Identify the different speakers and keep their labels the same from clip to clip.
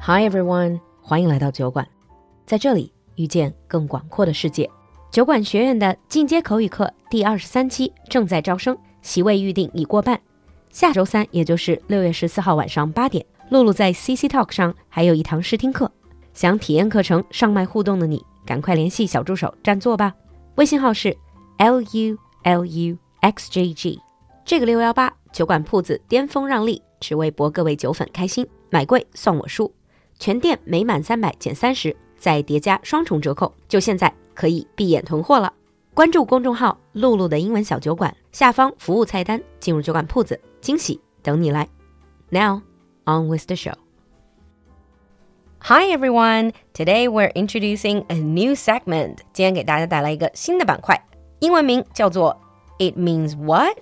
Speaker 1: Hi everyone， 欢迎来到酒馆，在这里遇见更广阔的世界。酒馆学院的进阶口语课第23期正在招生，席位预定已过半。下周三，也就是6月14号晚上8点，露露在 CC Talk 上还有一堂试听课。想体验课程上麦互动的你，赶快联系小助手占座吧。微信号是 LULUXJG。这个618酒馆铺子巅峰让利，只为博各位酒粉开心，买贵送我书。全店每满300减30，再叠加双重折扣，就现在可以闭眼囤货了。关注公众号露露的英文小酒馆，下方服务菜单进入酒馆铺子，惊喜等你来。 Now on with the show. Hi everyone, today we're introducing a new segment. 今天给大家带来一个新的板块，英文名叫做 It means what?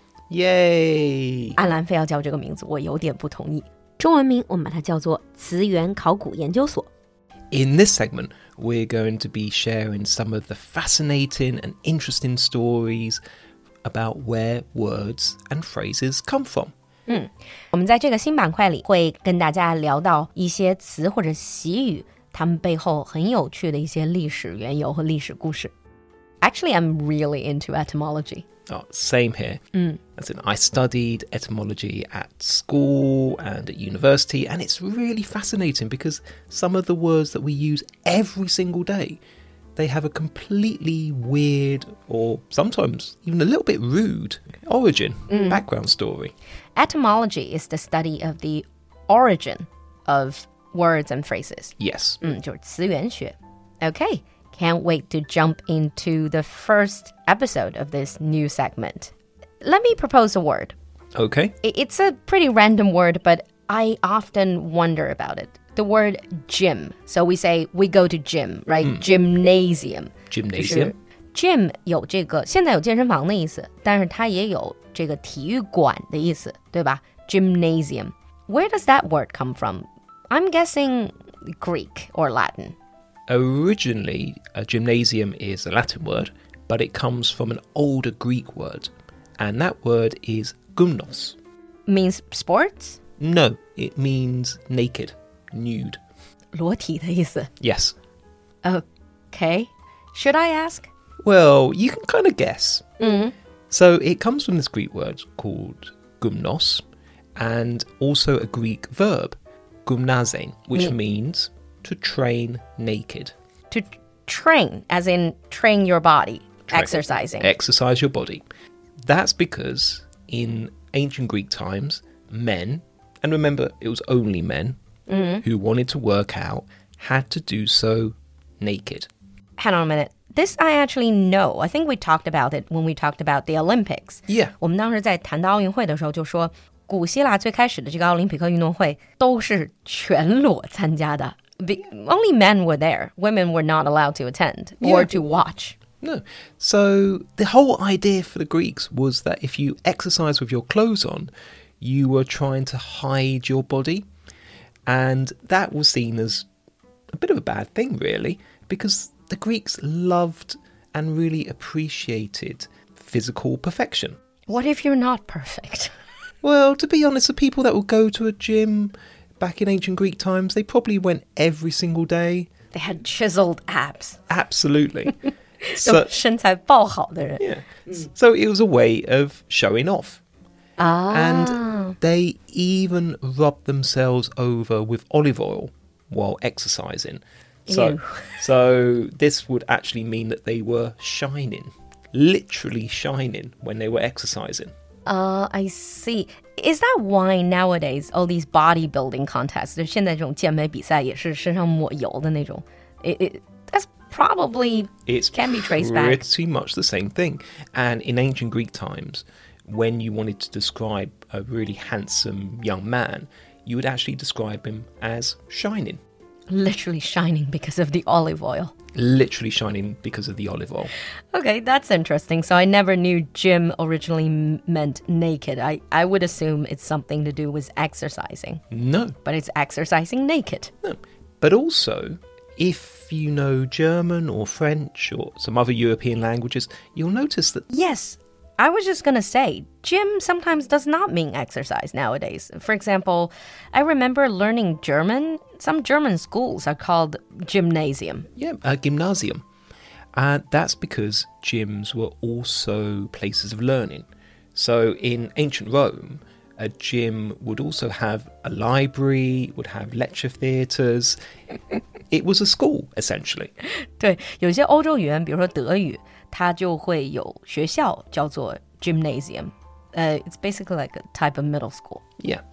Speaker 2: Yay!
Speaker 1: 安兰非要叫这个名字，我有点不同意。中文名我们把它叫做词源考古研究所。
Speaker 2: In this segment, we're going to be sharing some of the fascinating and interesting stories about where words and phrases come from.
Speaker 1: 我们在这个新板块里会跟大家聊到一些词或者习语，它们背后很有趣的一些历史缘由和历史故事。Actually, I'm really into etymology.
Speaker 2: Oh, same here. As in, I studied etymology at school and at university, and it's really fascinating because some of the words that we use every single day, they have a completely weird or sometimes even a little bit rude origin, background story.
Speaker 1: Etymology is the study of the origin of words and phrases.
Speaker 2: Yes.
Speaker 1: 就是词源学。Okay, can't wait to jump into the first episode of this new segment. Let me propose a word.
Speaker 2: Okay.
Speaker 1: It's a pretty random word, but I often wonder about it. The word gym. So we say we go to gym, right? Gymnasium.
Speaker 2: Gymnasium.
Speaker 1: Gym 有这个现在有健身房的意思，但是它也有这个体育馆的意思，对吧？ Gymnasium. Where does that word come from? I'm guessing Greek or Latin.
Speaker 2: Originally, a gymnasium is a Latin word, but it comes from an older Greek word, and that word is gymnos.
Speaker 1: Means sports?
Speaker 2: No, it means naked, nude.
Speaker 1: 裸体的意思。
Speaker 2: Yes.
Speaker 1: Okay. Should I ask?
Speaker 2: Well, you can kind of guess. So it comes from this Greek word called gymnos, and also a Greek verb, gymnazein, which means to train naked.
Speaker 1: To train, as in train your body, exercising.
Speaker 2: Exercise your body. That's because in ancient Greek times, men, and remember it was only men, who wanted to work out, had to do so naked.
Speaker 1: Hang on a minute. This I actually know. I think we talked about it when we talked about the Olympics.
Speaker 2: Yeah.
Speaker 1: 我们当时在谈到奥运会的时候就说，古希腊最开始的这个奥林匹克运动会都是全裸参加的。Only men were there. Women were not allowed to attend or to watch.
Speaker 2: No. So the whole idea for the Greeks was that if you exercise with your clothes on, you were trying to hide your body. And that was seen as a bit of a bad thing, really, because the Greeks loved and really appreciated physical perfection.
Speaker 1: What if you're not perfect?
Speaker 2: Well, to be honest, the people that would go to a gym back in ancient Greek times, they probably went every single day.
Speaker 1: They had chiseled abs.
Speaker 2: Absolutely. So,
Speaker 1: 身材爆好的人。
Speaker 2: yeah. So it was a way of showing off. And they even rubbed themselves over with olive oil while exercising.
Speaker 1: Ew.
Speaker 2: So this would actually mean that they were shining, literally shining when they were exercising.
Speaker 1: I see. Is that why nowadays all these bodybuilding contests, 就现在这种健美比赛也是身上抹油的那种。That's probably can be traced back.
Speaker 2: It's pretty much the same thing. And in ancient Greek times, when you wanted to describe a really handsome young man, you would actually describe him as shining.
Speaker 1: Literally shining because of the olive oil.
Speaker 2: Literally shining because of the olive oil.
Speaker 1: Okay, that's interesting. So I never knew gym originally meant naked. I would assume it's something to do with exercising.
Speaker 2: No.
Speaker 1: But it's exercising naked.
Speaker 2: No. But also, if you know German or French or some other European languages, you'll notice that...
Speaker 1: Yes, I was just going to say, gym sometimes does not mean exercise nowadays. For example, I remember learning German. Some German schools are called gymnasium.
Speaker 2: Yeah, a gymnasium. That's because gyms were also places of learning. So in ancient Rome, a gym would also have a library, would have lecture theatres. It was a school, essentially.
Speaker 1: 对，有些欧洲语言，比如说德语，它就会有学校叫做 gymnasium. It's basically like a type of middle school.
Speaker 2: Yeah.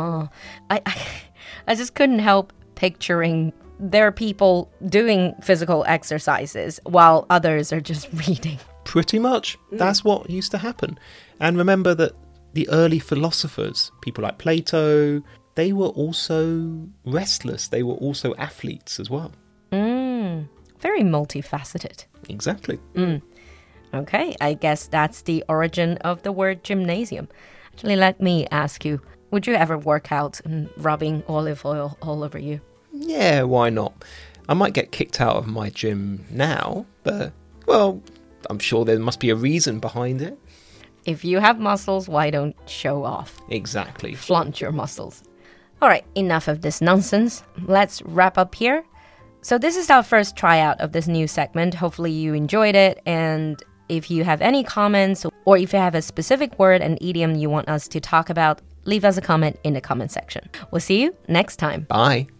Speaker 1: I just couldn't help picturing there are people doing physical exercises while others are just reading.
Speaker 2: Pretty much. That's what used to happen. And remember that the early philosophers, people like Plato, they were also restless. They were also athletes as well.
Speaker 1: Very multifaceted.
Speaker 2: Exactly.
Speaker 1: Okay, I guess that's the origin of the word gymnasium. Actually, let me ask you, would you ever work out and rubbing olive oil all over you?
Speaker 2: Yeah, why not? I might get kicked out of my gym now, but, well, I'm sure there must be a reason behind it.
Speaker 1: If you have muscles, why don't show off?
Speaker 2: Exactly.
Speaker 1: Flaunt your muscles. All right, enough of this nonsense. Let's wrap up here. So this is our first tryout of this new segment. Hopefully you enjoyed it. And if you have any comments or if you have a specific word and idiom you want us to talk about, leave us a comment in the comment section. We'll see you next time.
Speaker 2: Bye.